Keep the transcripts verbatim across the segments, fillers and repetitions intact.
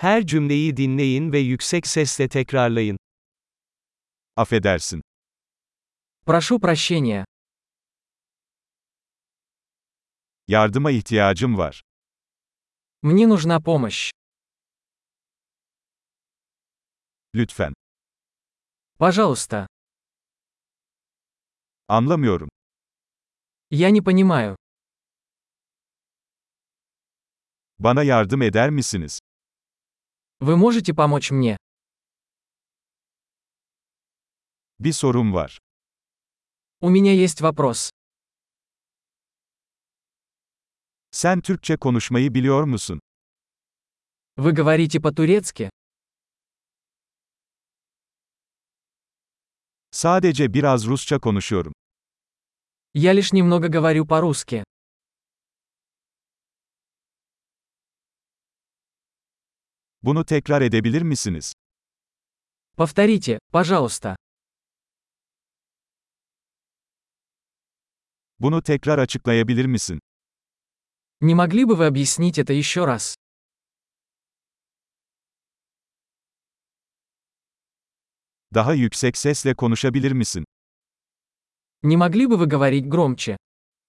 Her cümleyi dinleyin ve yüksek sesle tekrarlayın. Affedersin. Прошу прощения. Yardıma ihtiyacım var. Мне нужна помощь. Lütfen. Пожалуйста. Anlamıyorum. Я не понимаю. Bana yardım eder misiniz? Вы можете помочь мне? Bir sorum var. У меня есть вопрос. Sen Türkçe konuşmayı biliyor musun? Вы говорите по-турецки? Sadece biraz Rusça konuşuyorum. Я лишь немного говорю по-русски. Bunu tekrar edebilir misiniz? Повторите, пожалуйста. Bunu tekrar açıklayabilir misin? Не могли бы вы объяснить это еще раз? Daha yüksek sesle konuşabilir misin? Не могли бы вы говорить громче?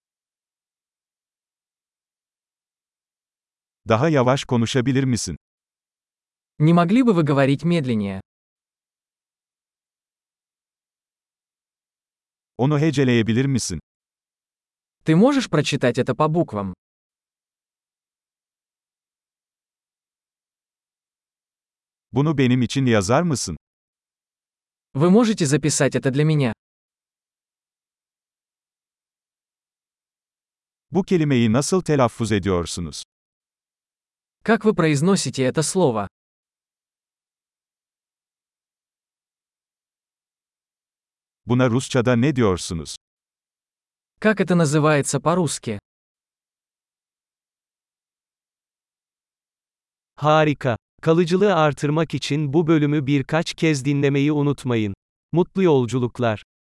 Daha yavaş konuşabilir misin? Не могли бы вы говорить медленнее? Onu heceleyebilir misin? Ты можешь прочитать это по буквам? Bunu benim için yazar mısın? Вы можете записать это для меня? Bu kelimeyi nasıl telaffuz ediyorsunuz? Как вы произносите это слово? Buna Rusçada ne diyorsunuz? Как это называется по-русски? Harika. Kalıcılığı artırmak için bu bölümü birkaç kez dinlemeyi unutmayın. Mutlu yolculuklar.